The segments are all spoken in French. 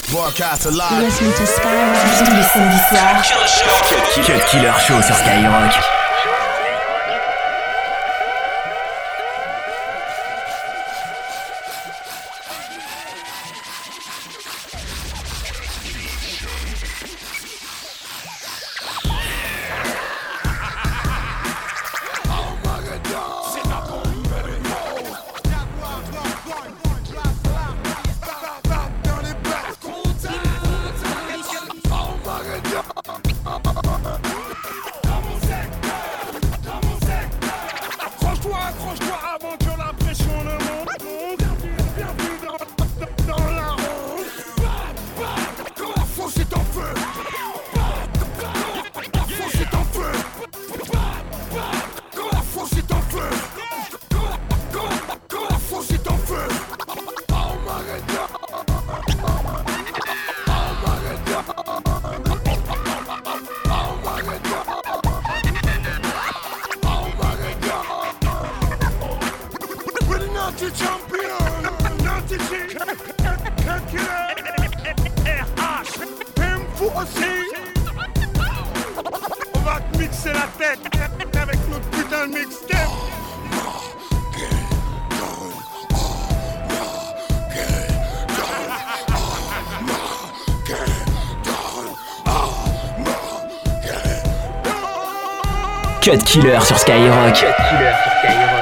Broadcast alive. Listen to Skyrock tous les samedis soirs. Cut Killer Show sur Skyrock. Cut Killer sur Skyrock. Cut Killer sur Skyrock.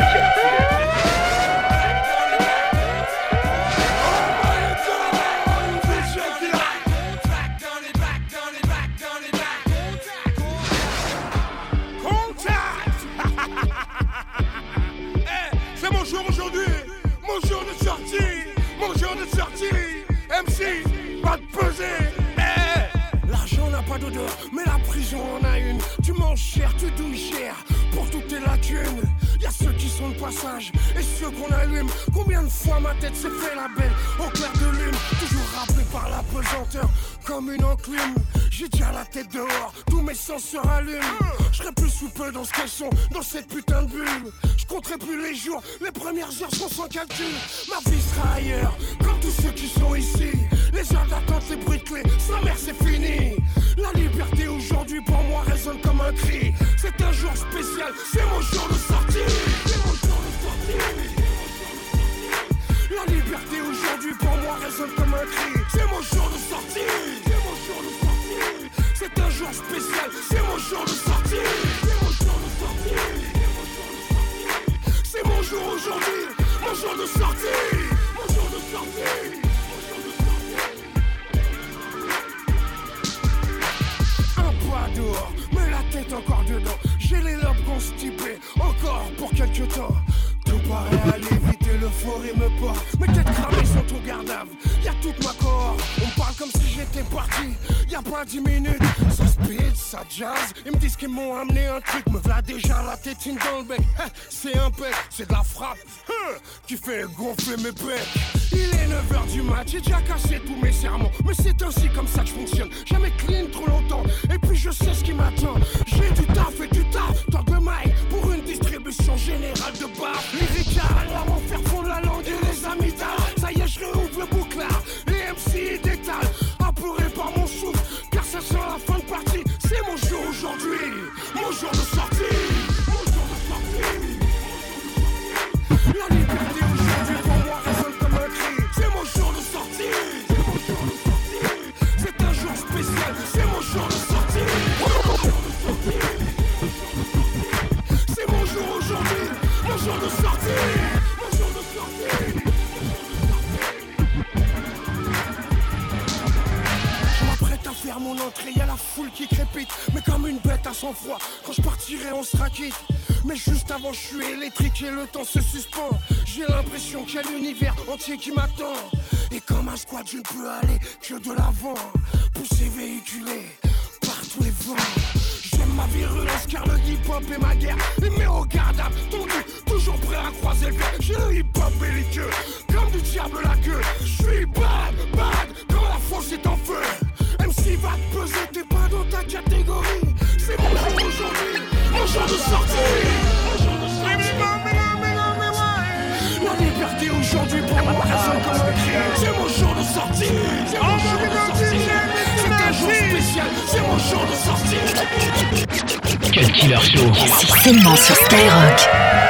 C'est mon jour aujourd'hui, mon jour de sortie, mon jour de sortie. MC, pas de peser. L'argent n'a pas d'odeur, mais la prison en a une. Tu manges cher, tu douilles cher, pour toutes tes lacunes. Y'a ceux qui sont de passage et ceux qu'on allume. Combien de fois ma tête s'est fait la belle au clair de lune, toujours rappelé par la pesanteur comme une enclume. J'ai déjà la tête dehors, tous mes sens se rallument. Je serai plus sous peu dans ce caleçon, dans cette putain de bulle. Je compterai plus les jours, les premières heures sont sans calcul. Ma vie sera ailleurs, comme tous ceux qui sont ici. Les heures d'attente, les bruits de clés, sa mère c'est fini. La liberté aujourd'hui pour moi résonne comme un cri. C'est un jour spécial, c'est mon jour de sortie. C'est mon jour de sortie. La liberté aujourd'hui pour moi résonne comme un cri. C'est mon jour de sortie. C'est mon jour de sortie. C'est un jour spécial, c'est mon jour de sortie. C'est mon jour de sortie. C'est mon jour aujourd'hui, mon jour de sortie. Mon jour de sortie. Dehors, mais la tête encore dedans. J'ai les lobes constipés, encore pour quelques temps. Tout paraît aller vite et l'euphorie me porte. Mes têtes cramées sont au garde-à-vous. Y'a toute ma cohorte, on me parle comme si j'étais parti. Y'a pas 10 minutes, ça speed, ça jazz. Ils me disent qu'ils m'ont amené un truc. Me v'là déjà la tétine dans le bec. C'est un bec, c'est de la frappe qui fait gonfler mes becs. Il est 9h du mat, j'ai déjà cassé tous mes sermons. Mais c'est ainsi comme ça que je fonctionne. Jamais clean trop longtemps, et puis je sais ce qui m'attend. J'ai du taf et du taf, tant de mailles pour une distribution générale de baf. Lyrical, à m'en faire fondre la langue et les amygdales. Ça y est, je réouvre le bouclard, les MC détalent. Apeuré par mon souffle, car ça sent la fin de partie. C'est mon jour aujourd'hui, mon jour de sortie. Mon jour de sortie. La liberté aujourd'hui pour moi résonne comme un cri. C'est mon jour de sortie. C'est mon jour de sortie. C'est un jour spécial, c'est mon jour de sortie. C'est mon jour aujourd'hui, mon jour de sortie. Mon jour de sortie. Je m'apprête à faire mon entrée, y'a la foule qui crépite. Mais comme une bête à sang-froid, quand je partirai on sera quitte. Mais juste avant je suis électrique et le temps se suspend. J'ai l'impression qu'il y a l'univers entier qui m'attend. Et comme un squat je ne peux aller que de l'avant. Poussé, véhiculé par tous les vents. J'aime ma virulence car le hip-hop est ma guerre. Les mets au garde-à-vous, tendu, toujours prêt à croiser le fer. J'ai le hip-hop belliqueux, comme du diable la queue. Je suis bad, bad, quand la fosse est en feu. MC va te peser, t'es pas dans ta catégorie. C'est mon jour aujourd'hui, mon jour de sortie. La liberté aujourd'hui pour moi résonne comme un cri. C'est mon jour de sortie. C'est mon jour de sortie. Cut Killer Show. C'est seulement sur Skyrock.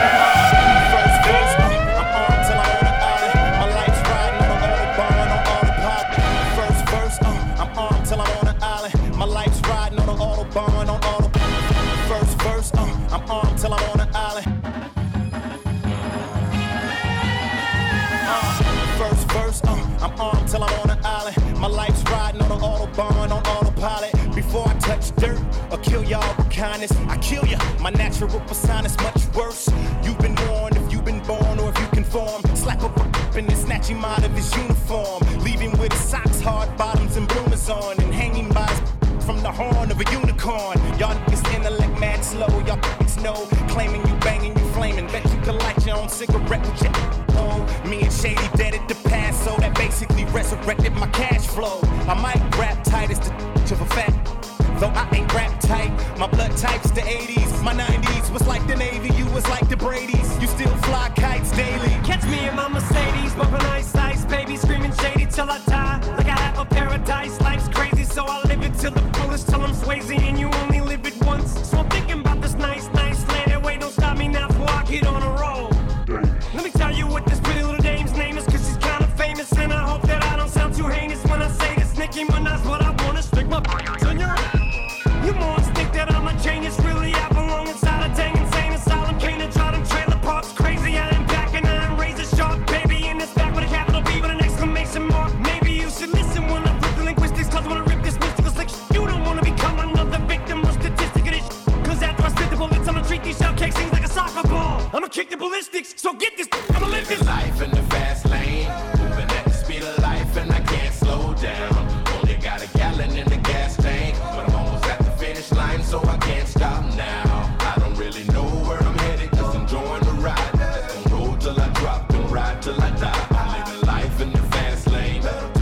I kill ya. My natural persona is much worse. You've been warned if you've been born or if you conform. Slap up and then snatch him out of his uniform. Leave him with his socks, hard bottoms, and bloomers on. And hanging by his from the horn of a unicorn. Y'all niggas intellect mad slow. Y'all niggas know. Claiming you banging, you flaming. Bet you can light your own cigarette with your own. Me and Shady dead at the past, so that basically resurrected my cash flow. I might rap tight as the of a fat. Though I ain't rap tight, my blood type's the 80s. My 90s was like the Navy, you was like the Brady's. You still fly kites daily. Catch me in my Mercedes, bumping ice, baby, screaming shady till I die. Like I have a paradise, life's crazy, so I live it till the fullest, till I'm Swayze, and you only live it once. So I'm thinking about this nice land. Wait, don't stop me now before I get on a roll. Let me tell you what this pretty little dame's name is, cause she's kinda famous, and I hope that I don't sound too heinous when I say this. Nicki Minaj, what I wanna stick my on your. You morons think that I'm a genius, really I belong inside a dang insane asylum. Can't enjoy them trailer parks, crazy I am back and I'm razor sharp. Baby in this back with a capital B with an exclamation mark. Maybe you should listen when I rip the linguistics, cause when I rip this mystical slick you don't wanna become another victim or statistic of this cause after I spit the bullets I'ma treat these shell cakes things like a soccer ball. I'ma kick the ballistics, so get this, I'ma live this life in the fast lane, moving at the speed of life and I can't slow down. Only got a gallon in the gas tank, but I'm almost at the finish line, so I can't stop now. I don't really know where I'm headed, just enjoying the ride. Just gonna roll till I drop and ride till I die. I'm living life in the fast lane,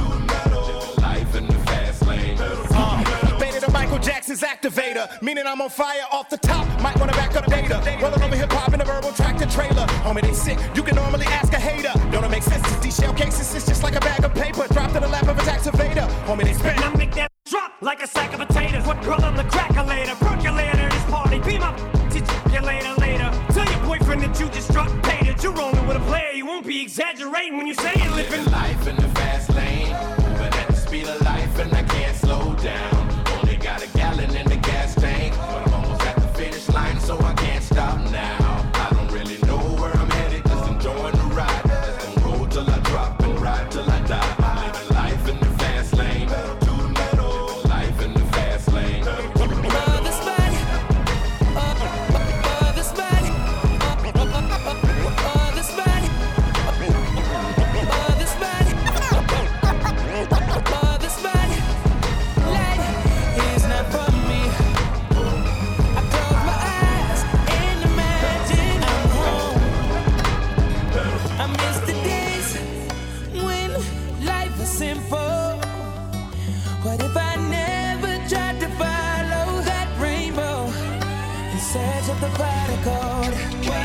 living life in the fast lane. Beta to Michael Jackson's activator, meaning I'm on fire off the top. Might wanna back up data. Rolling over hip hop in a verbal tractor trailer. Homie, they sick. You can normally ask a hater. Don't it make sense? These shell cases is just like a bag of paper dropped in the lap of a taxivator. Homie, they spit. and I make that drop like a sack of potatoes. What girl on the cracker later? Percolator this party. Be my you later. Tell your boyfriend that you just struck paid. You're rolling with a player. You won't be exaggerating when you say it. Living life in the fast lane, moving at the speed of life and I can't slow down. Only got a gallon in the gas tank, but I'm almost at the finish line, so I can't stop now. I don't really know where I'm headed, just enjoying the ride. Just gonna roll till I drop and ride till I die. I'm living life in the fast lane, living life in the fast lane. What if I never tried to follow that rainbow in search of the prodigal?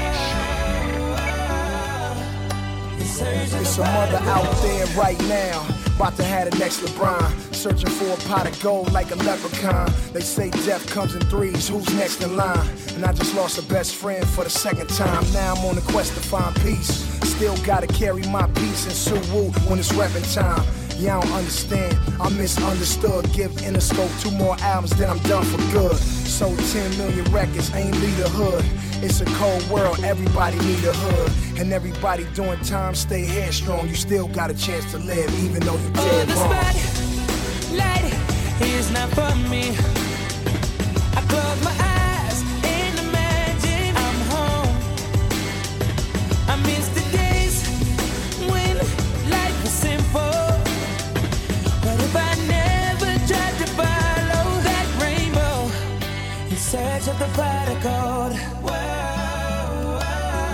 There's some mother out there right now, about to have the next LeBron, searching for a pot of gold like a leprechaun. They say death comes in threes, who's next in line? And I just lost a best friend for the second time. Now I'm on the quest to find peace. Still gotta carry my peace and Suwoo when it's reppin' time. Yeah, I don't understand, I'm misunderstood. Give Interscope 2 more albums, then I'm done for good. Sold 10 million records, ain't lead a hood. It's a cold world, everybody need a hood. And everybody doing time, stay headstrong. You still got a chance to live, even though you dead wrong. This light is not for me. I close my eyes and imagine I'm home. I miss the days when life was simple. What if I never tried to follow that rainbow in search of the prodigal?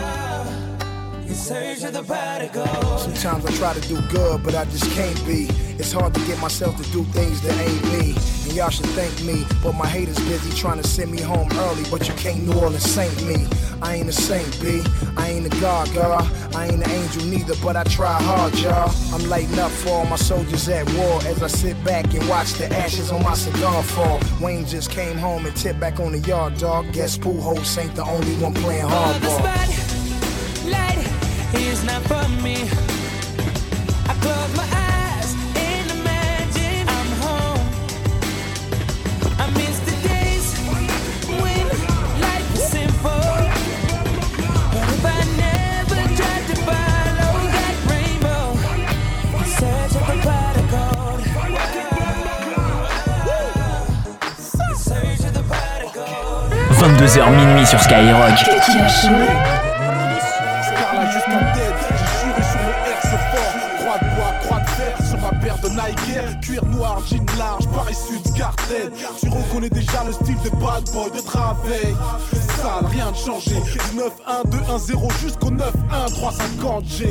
In search of the prodigal. Sometimes I try to do good, but I just can't be. It's hard to get myself to do things that ain't me. And y'all should thank me, but my haters busy trying to send me home early. But you can't New Orleans saint me. I ain't a saint, B. I ain't a god, y'all. I ain't an angel neither, but I try hard, y'all. I'm lighting up for all my soldiers at war as I sit back and watch the ashes on my cigar fall. Wayne just came home and tipped back on the yard, dog. Guess Pujols ain't the only one playing hardball. The spotlight is not for me. I close my eyes and imagine I'm home. I miss the days when life was simple. But if I never tried to follow that rainbow, in search of the pot of gold, in search of the pot of gold. 22h minuit sur Skyrock. Scarla jusqu'à tête, j'ai juré sur le R, c'est fort. Croix de bois, croix de fer sur ma paire de Nike. Cuir noir, jean large, Paris Sud, Garden. Tu reconnais déjà le style des bad boys de travail. Sale, rien de changé. 9-1-2-1-0 jusqu'au 9-1-350G.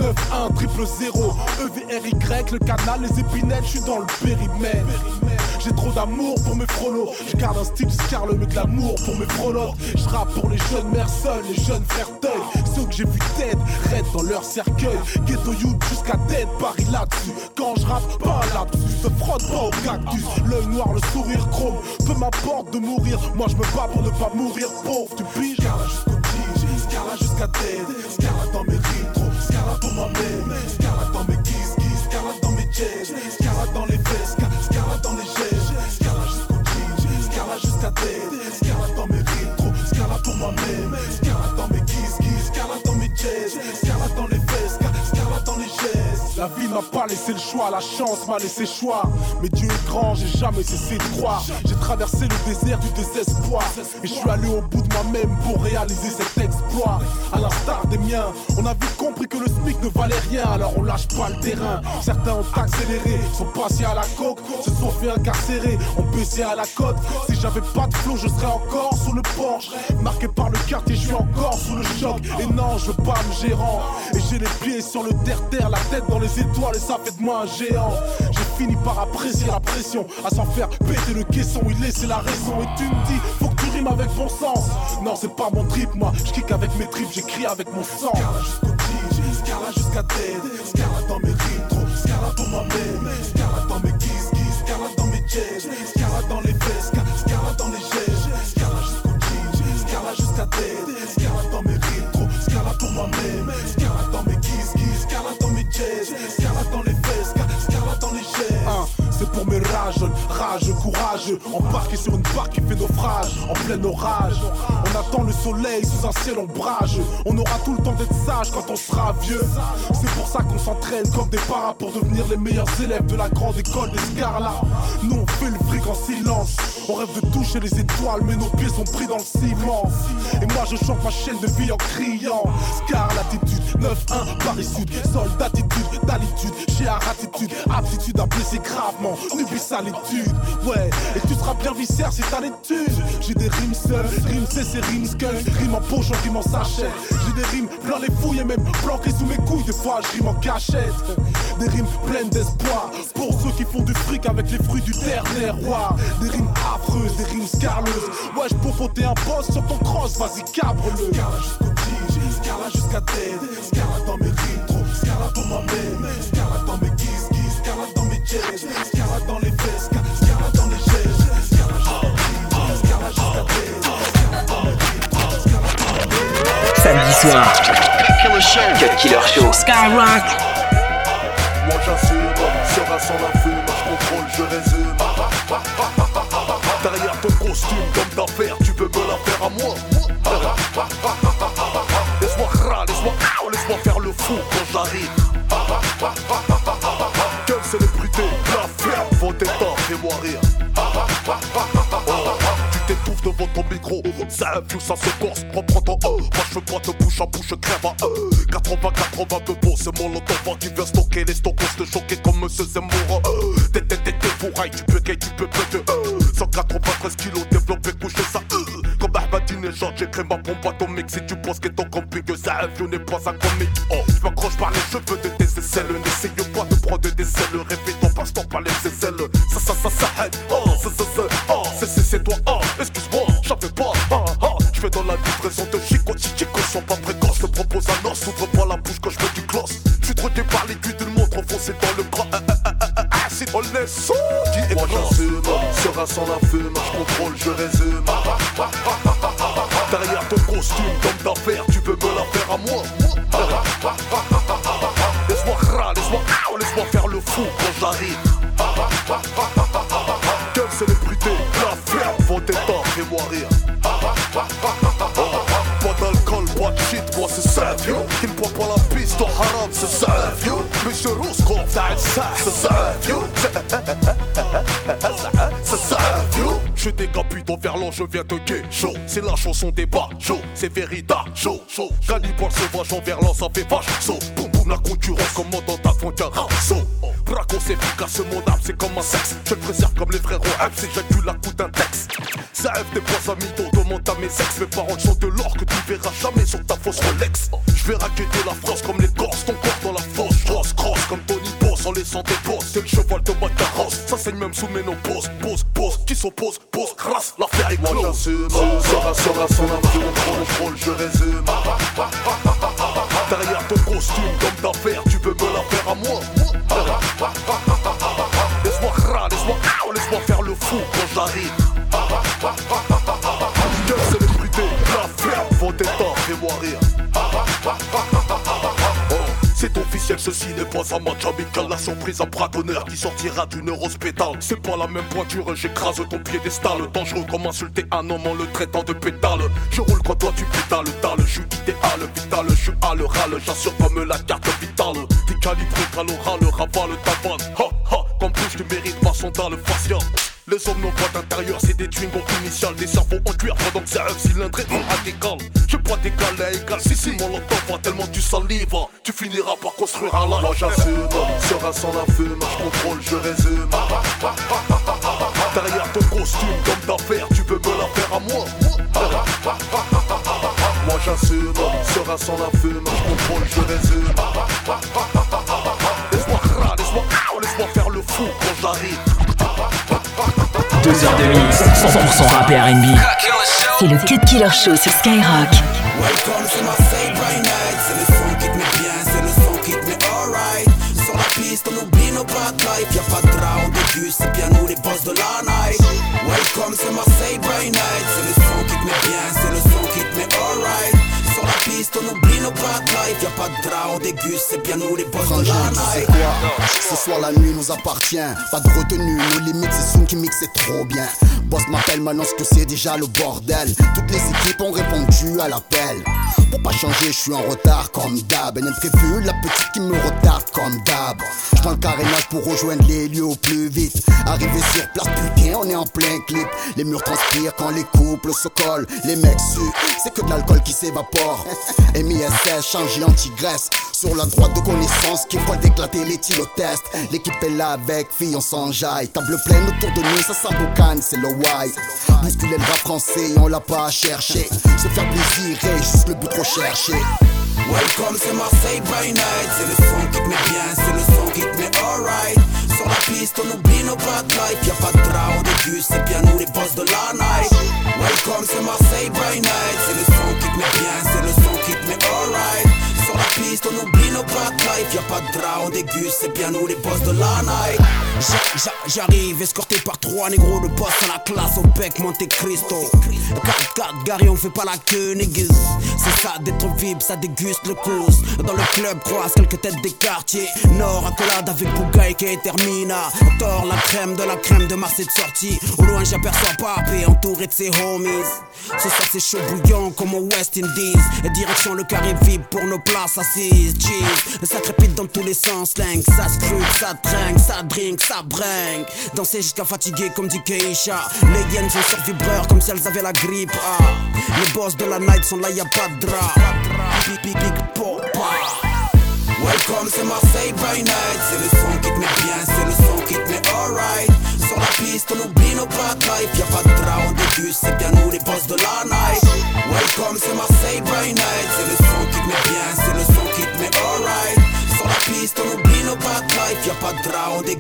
9-1-0-0 EVRY, le canal, les épinettes, je suis dans le périmètre. J'ai trop d'amour pour mes frolos. Je garde un style Scarle mais de l'amour pour mes frolottes. Je rappe pour les jeunes mères seules, les jeunes frères Teuil. Ceux que j'ai vu tête, raide dans leur cercueil. Ghetto youth jusqu'à tête, Paris là-dessus. Quand je rappe, pas un lapsus, se frotte pas au cactus. L'œil noir, le sourire chrome, peu m'importe de mourir. Moi je me bats pour ne pas mourir pauvre, tu piges. Scarla jusqu'au tige, Scarla jusqu'à tête. Scarla dans mes rétros, Scarla pour moi-même. Scarla dans mes kiss, Scarla dans mes jazz. Scarla dans les vestes, Scarla dans les jazz. Scarla jusqu'au tige, Scarla jusqu'à tête. Scarla dans mes rétros, Scarla pour moi-même. Scarla dans mes kiss, Scarla dans mes jazz. Scarla dans les vestes, Scarla dans les jazz. La vie m'a pas laissé le choix, la chance m'a laissé choix. Mais Dieu est grand, j'ai jamais cessé de croire. J'ai traversé le désert du désespoir. Et je suis allé au bout de moi-même pour réaliser cet exploit. À l'instar des miens, on a vite compris que le SMIC ne valait rien. Alors on lâche pas le terrain. Certains ont accéléré, sont passés à la coque, se sont fait incarcérer, ont baissé à la côte. Si j'avais pas de flow, je serais encore sous le porche. Marqué par le quartier, je suis encore sous le choc. Et non, je veux pas me gérant. Et j'ai les pieds sur le terre-terre, la tête dans les étoiles et ça fait de moi un géant. J'ai fini par apprécier la pression, à s'en faire péter le caisson, il laissait la raison. Et tu me dis, faut que tu rimes avec bon sens. Non, c'est pas mon trip, moi, je kick avec mes tripes, j'écris avec mon sang. Scarla jusqu'au tige, Scarla jusqu'à tête. Scarla dans mes rétros, Scarla pour moi-même. Scarla dans mes kiss, Scarla dans mes jazz. Scarla dans les vestes, Scarla dans les jazz. Scarla jusqu'au tige, Scarla jusqu'à tête. Scarla dans mes rétros, Scarla pour moi-même. Scarla dans mes kiss, Scarla dans mes jazz. Scarla dans les vestes, Scarla dans les jazz. C'est pour mes rageux, courageux, embarqués sur une barque qui fait naufrage, en plein orage. On attend le soleil sous un ciel ombrageux. On aura tout le temps d'être sage quand on sera vieux. C'est pour ça qu'on s'entraîne comme des paras pour devenir les meilleurs élèves de la grande école des Scarla. Nous on fait le fric en silence. On rêve de toucher les étoiles, mais nos pieds sont pris dans le ciment. Et moi je chante ma chaîne de vie en criant. Scarla attitude, 9-1, Paris Sud. Soldatitude, d'alitude, j'ai attitude, aptitude à blesser gravement. N'oublie ça l'étude, ouais. Et tu seras bien viscère si t'as l'étude. J'ai des rimes seules, rimes c'est rimes skull. Rimes en poche, rimes en sachet. J'ai des rimes plein les fouilles et même planquées sous mes couilles. Des fois je rime en cachette. Des rimes pleines d'espoir pour ceux qui font du fric avec les fruits du terroir. Des rimes affreuses, des rimes scarleuses. Ouais, je peux poter un boss sur ton cross, vas-y cabre-le. Scarla jusqu'au tige, Scarla jusqu'à tête. Scarla dans mes rétros, Scarla pour moi-même. Scarla dans mes kiss, Scarla dans mes jazz. Scarla dans les vestes, Scarla dans les jazz. Scarla jusqu'à tête. Scarla dans mes rétros, Scarla pour moi-même. Samedi soir, Cut Killer Show, Skyrock. Moi j'assume, serein sans la fume, je contrôle, je résume. Derrière ton costume, comme d'affaires, tu peux me la faire à moi. Laisse-moi laisse-moi faire le fou quand j'arrive. Quelle célébrité, la ferme, vos états, fais-moi rire. Tu t'étouffes devant ton micro, ça influe, ça se corse, reprends ton moi je veux pas de bouche à bouche, crève à 80 de beau, c'est mon lotova qui vient stocker les stockos, te choquer comme Monsieur Zemmour. T'es fourrailles, tu peux péter 193 kilos, développé, coucher ça comme Ahmadinejad. shot, j'écris ma bombe atomique. Si tu penses qu'être en camping, ça avion n'est pas un comique. Oh, je m'accroche par les cheveux de tes aisselles. N'essaye pas de prendre des ailes. Répète ton passe-temps par les aisselles. Ça, oh, oh, c'est toi, oh, excuse-moi, j'en fais pas, je fais dans la livraison de Chico, si Chico sont pas précoces, je te propose un os, s'ouvre pas la bouche quand je fais du gloss. Je suis drogué par l'aiguille d'une montre enfoncée dans le bras, acide, on laisse, moi j'assume, sera sans la fume, je contrôle, je résume. Derrière ton costume, d'homme d'affaires, tu veux me la faire à moi. Laisse-moi faire le fou quand j'arrive. Quelle célébrité, la ferme, vendetta, fais-moi rire. Pas d'alcool, pas de shit, moi c'est Savio. Il ne boit pas la piste au haram, c'est Savio. Monsieur Roscoff, c'est Savio. C'est Savio. Je décapite au verlan, je viens te gay chaud. C'est la chanson des bajos, c'est Vérida, chaud. Cannibale sauvage en verlan, ça fait vache saut. Boum boum, la concurrence commandant ta frontière, saut. Bracos efficace, mon âme c'est comme un sexe. Je le préserve comme les frérots F, c'est j'accule la coup d'un texte. Ça F des poids à mytho, demande à mes ex. Mes paroles sont de l'or que tu verras jamais sur ta fausse Rolex. Je vais raqueter la France comme les Corses, ton corps dans la fosse. Cross comme Tony Boss en laissant des bosses. C'est le cheval de ma carrosse, ça saigne même sous ménopause. Pose, qui s'oppose, pose, crasse, l'affaire est close. Moi j'assume, sera sans influence, contrôle, je résume. Derrière ton costume d'homme d'affaires, tu veux me la faire à moi. Laisse-moi faire le fou quand j'arrive. Quelle célébrité, la ferme, vendetta, fais-moi rire. Oh, c'est officiel, ceci n'est pas un match amical. La surprise, un braconneur qui sortira d'une rose pétale. C'est pas la même pointure, j'écrase ton piédestal. Dangereux comme insulter un homme en le traitant de pétale. Je roule quand toi tu pétales, je suis idéal, vital, je suis à l'oral, j'assure comme la carte vitale. T'es calibré qu'à l'oral, ravale ta vanne. Comme bouche tu mérites ma sondale faciale. Les hommes n'ont pas d'intérieur, c'est des twingos initiales. Des cerveaux en cuir pendant que c'est un cylindré radical. Je bois d'égal à égal, si mon l'entend pas tellement tu salives. Tu finiras par construire un lac. Moi j'assume, sera sans la fume, je contrôle, je résume. Derrière ton costume d'homme d'affaires, tu veux me la faire à moi. Moi j'assume, sera sans la fume, je contrôle, je résume. Laisse-moi faire le fou quand j'arrive. 2 heures de mix, 100% rap et R&B. C'est le Cut Killer Show sur Skyrock. Welcome, c'est Marseille by night. C'est le son qui te met bien, c'est le son qui te met alright. Sur la piste, on oublie nos bad life. Y'a pas de drap, on débute, c'est bien nous les boss de la night. Welcome, c'est Marseille by night. C'est le son qui te met bien, c'est le son qui te met alright. Sur la piste, on oublie nos bad life. Y'a pas de drap, on déguste, c'est bien nous les boss de la night. Ce soir la nuit nous appartient, pas de retenue, nos limites c'est Soon qui mixe, c'est trop bien. Boss m'appelle, maintenant que c'est déjà le bordel. Toutes les équipes ont répondu à l'appel. Pour pas changer, je suis en retard comme d'hab. Et prévu, la petite qui me retarde comme d'hab. Je prends le carénage pour rejoindre les lieux au plus vite. Arrivé sur place, putain, on est en plein clip. Les murs transpirent quand les couples se collent. Les mecs suent, c'est que de l'alcool qui s'évapore. MISS, changé anti-graisse. Sur la droite de connaissance qui voit d'éclater les tylotests. L'équipe est là avec filles, on s'enjaille. Table pleine autour de nous, ça s'emboucane, c'est le why. Bousculer le rap français, on l'a pas à chercher. Se faire plaisir et juste le but recherché. Welcome, c'est Marseille by night. C'est le son qui te met bien, c'est le son qui te met alright. Sur la piste, on oublie nos bad life. Y'a pas de drap, on débute, c'est bien nous les boss de la night. Welcome, c'est Marseille by night. C'est le son qui te met bien, c'est le son qui te met alright. Sur la piste, on oublie nos bad life. Y'a pas de drap, on déguste, c'est bien nous les boss de la night. J'arrive escorté par 3 négros de boss à la classe au bec Monte Cristo. 4-4 Gary, on fait pas la queue niggas. C'est ça d'être VIP, ça déguste le cause. Dans le club croise quelques têtes des quartiers Nord, accolade avec Bougaï qui termina. Tord la crème de Marseille de sortie. Au loin j'aperçois Papé entouré de ses homies. Ce soir c'est chaud bouillant comme au West Indies. Et direction le carré VIP pour nos places assises. Cheese, ça crépite dans tous les sens. Slang, ça scrute, ça trinque, ça drink, ça bringue. Danser jusqu'à fatiguer comme dit Keisha. Les hyènes sont sur vibreur comme si elles avaient la grippe. Les boss de la night sont là, y'a pas de drap. Big popa. Welcome, c'est Marseille by night. C'est le son qui te met bien, c'est le son qui te met alright. Sur la piste, on oublie nos bad life. Y'a pas de drap, on déguste, c'est bien nous les boss de la night.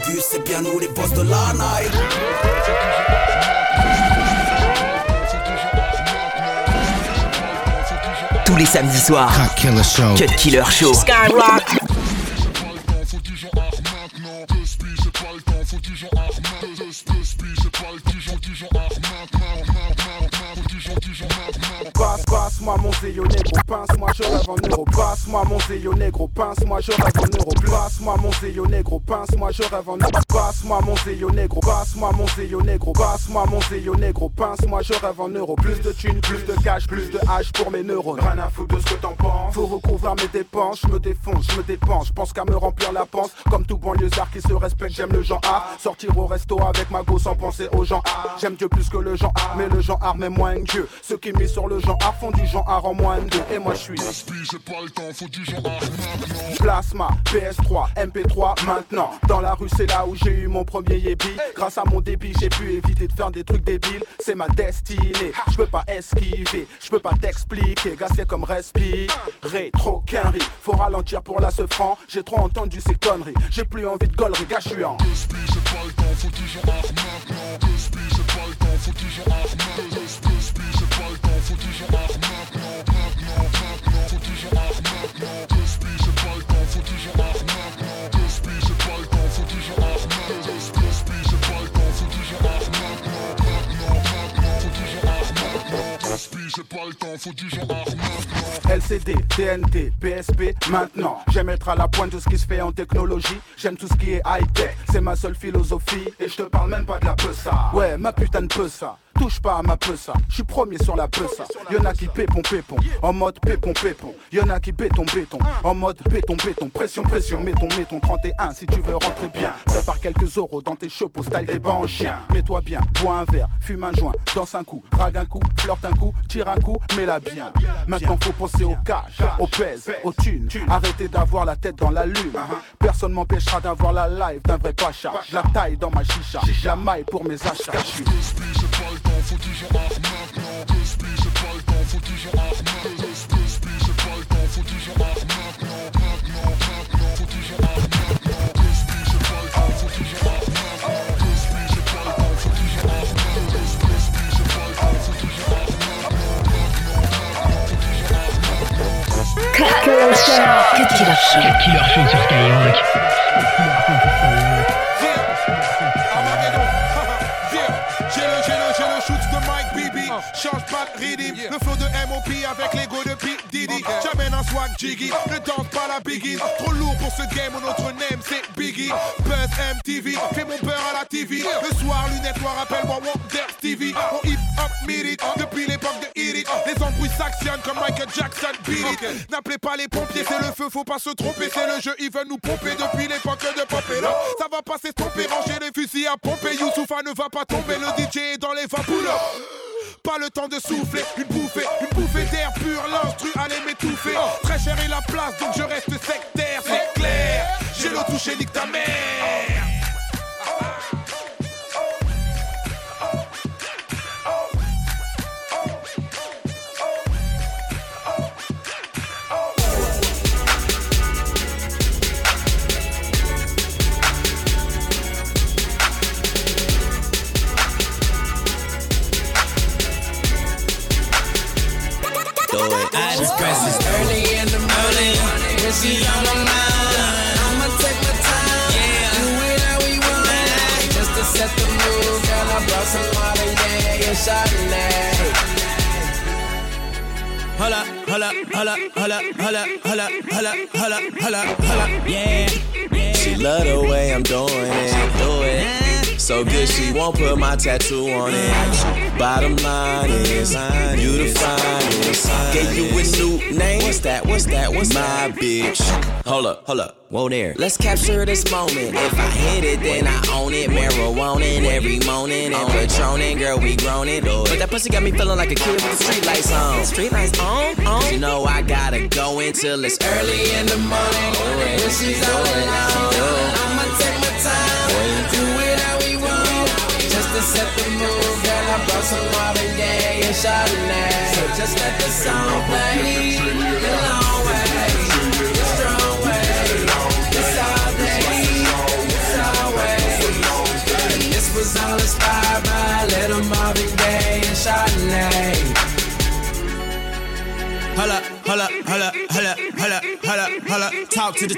bus, c'est bien nous les boss de la night. Tous les samedis soirs, Cut Killer Show. Skyrock. Passe-moi mon zéyo négro, pince-moi, je rêve en euro. Passe-moi mon zéyo négro, pince-moi, je rêve en euro. Passe-moi mon zéyo négro, pince-moi, je rêve en euro. Passe-moi mon zéyo négro, passe-moi mon zéyo négro, passe-moi mon zéyo négro, pince-moi, je rêve en euro. Plus de thunes, plus de cash, plus de hache pour mes neurones. Rien à foutre de ce que t'en penses. Faut recouvrir mes dépenses, je me défonce, je me dépense. Je pense qu'à me remplir la panse. Comme tout banlieusard qui se respecte, j'aime le genre A. Sortir au resto avec ma go sans penser aux gens A. J'aime Dieu plus que le genre A, mais le genre A met moins que Dieu. Ceux qui misent sur le genre A font du genre A en moins de 2. Et moi je suis j'ai pas le temps, faut du genre A maintenant. Plasma, PS3, MP3 maintenant. Dans la rue c'est là où j'ai eu mon premier yébi. Grâce à mon débit j'ai pu éviter de faire des trucs débiles. C'est ma destinée, je peux pas esquiver, je peux pas t'expliquer. Gars c'est comme respirer, trop qu'un riz. Faut ralentir pour la se franc, j'ai trop entendu ces conneries. J'ai plus envie de gaulerie, gars je suis en j'ai pas le temps, faut du genre A maintenant. J'ai pas le temps, faut du genre A maintenant. J'ai pas le temps, faut du genre A maintenant. Faut du genre A maintenant. J'ai pas le temps, faut du genre A maintenant. J'ai pas le temps, faut du genre A maintenant. J'ai pas le temps, faut du genre A maintenant. J'ai pas le temps, faut du genre A maintenant. LCD, TNT, PSP, maintenant. J'aime être à la pointe de ce qui se fait en technologie. J'aime tout ce qui est high-tech, c'est ma seule philosophie. Et je te parle même pas de la peusa. Ouais, ma putain de peusa. Touche pas à ma peusa, je suis premier sur la peusa. Y'en a qui pépon, en mode pépon. Y'en a qui béton, en mode béton. Pression, mettons 31 si tu veux rentrer bien. Prépare quelques euros dans tes chapeaux, style des bancs en chien. Mets-toi bien, bois un verre, fume un joint, danse un coup, drague un coup, flirte un coup, tire un coup, mets-la bien. Maintenant faut penser au cash, au pèse, au thunes. Arrêtez d'avoir la tête dans la lune. Personne m'empêchera d'avoir la live d'un vrai pacha. La taille dans ma chicha, la maille pour mes achats. Faut du genre A maintenant. J'ai pas le temps, faut du genre A maintenant. J'ai pas le temps, faut du genre A maintenant. Faut du genre A maintenant. J'ai pas le temps, faut du genre A maintenant. J'ai pas le temps, faut du genre A maintenant. J'ai pas le temps, faut du genre A maintenant. Cut Killer Show sur Skyrock. Change pas de rythme, le flow de M.O.P. avec l'ego de P. Diddy. J'amène un swag jiggy, ne danse pas la biggie. Trop lourd pour ce game, notre name c'est Biggie. Buzz MTV, fais mon beurre à la TV. Le soir, lunettes noires, appelle-moi Wonder Stevie. On hip hop mid it, depuis l'époque de Hit It. Les embrouilles s'actionnent comme Michael Jackson beat it. N'appelez pas les pompiers, c'est le feu, faut pas se tromper. C'est le jeu, ils veulent nous pomper depuis l'époque de Pop et là. Ça va pas s'estomper, ranger les fusils à pomper. Youssoufa ne va pas tomber, le DJ est dans les vapoules. Pas le temps de souffler, une bouffée d'air pur, l'instru allait m'étouffer. Très cher est la place, donc je reste sectaire, c'est clair. J'ai le touché, nique ta mère. I just press this early in the morning. When she on my mind, I'ma take my time. Do it how we want. Just to set the mood, girl, I brought some Marley and Chardonnay. Holla, yeah. She love the way I'm doing it. So good she won't put my tattoo on it. Bottom line is, you the finest. Gave you a new name. What's that? What's my bitch? Hold up. Whoa there. Let's capture this moment. If I hit it, then I own it. Marijuana every morning and Patronin', girl, we grown it. But that pussy got me feeling like a kid with the street lights on. Street lights on? You know I gotta go until it's early in the morning. When she's on and on, I'ma take my time. Do it how we want. Just to set the mood, girl, I brought some Marley and Chardonnay. So just let the song play. The long way, the strong way. It's all day, it's all way. Holla, talk to the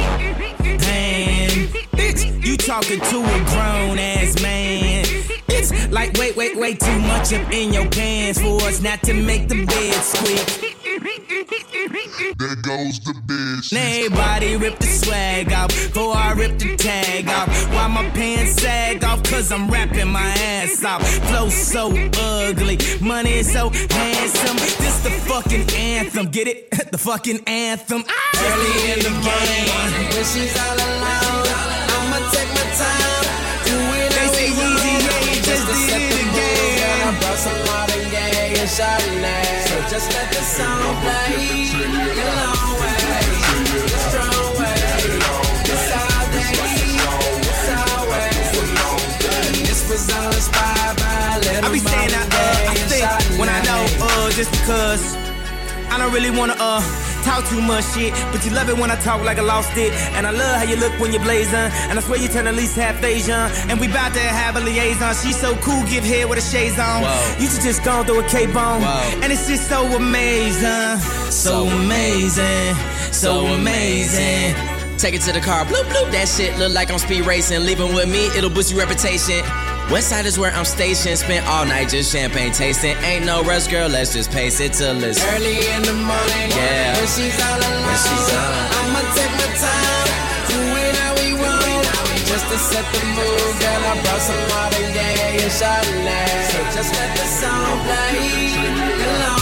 hand. Bitch, you talking to a grown ass man. It's like way too much up in your pants for us not to make the bed squeak. There goes the bitch. Now everybody rip the swag off before I rip the tag off. Why my pants sag off? Cause I'm rapping my ass off. Flow so ugly, money is so handsome. This the fucking anthem, get it? The fucking anthem. Early in the morning, when she's all alone, I'ma take my time, do it how we want. Just to set the mood, girl, I brought some modern gay and Chardonnay. So just let the song play, the long way, the strong way, it's all day, it's always. This was all inspired by a little I be saying I think when I know, just because I don't really wanna talk too much shit, but you love it when I talk like I lost it. And I love how you look when you're blazing, and I swear you turn at least half Asian. And we bout to have a liaison. She's so cool, give head with a shades on. Whoa. You should just go through a cape on. Whoa. And it's just so amazing, so amazing, so amazing. Take it to the car, bloop bloop. That shit look like I'm speed racing. Leaving with me, it'll boost your reputation. Westside is where I'm stationed. Spent all night just champagne tasting. Ain't no rush, girl, let's just pace it till it's early in the morning. Yeah, when she's all alone, I'ma take my time, do it how we want. Just to set the mood, girl, I brought some modern gay and Chardonnay. So just let the song play,